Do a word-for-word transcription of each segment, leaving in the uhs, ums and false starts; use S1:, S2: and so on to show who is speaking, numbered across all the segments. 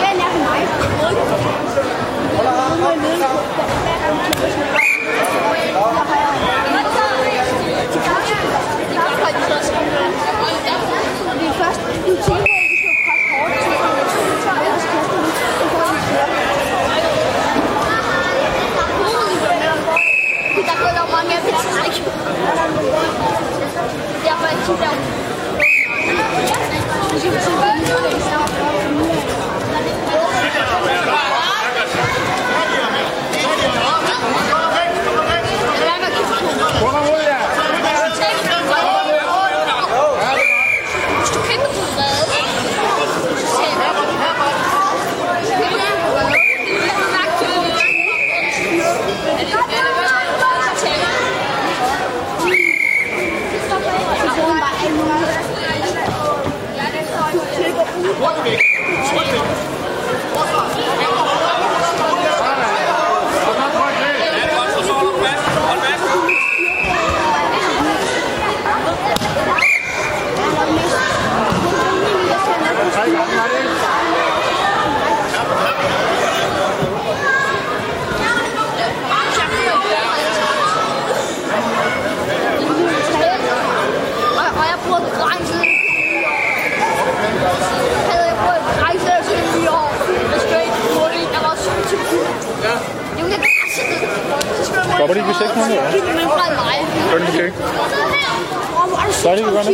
S1: Stopper de ikke ved seks måneder? Gør de ikke? Så er det ikke godt nok.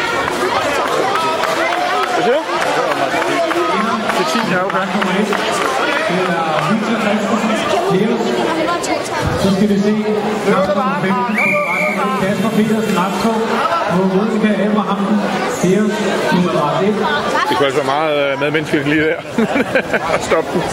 S1: Hvad siger du? Det er ti, ja, okay.
S2: Så skal vi se Kasper Petersen optog på Monika Abrahamsen.
S1: Det kunne altså være meget medmenneskeligt lige der. Stop den.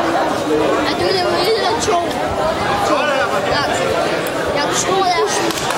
S3: Jeg tror, jeg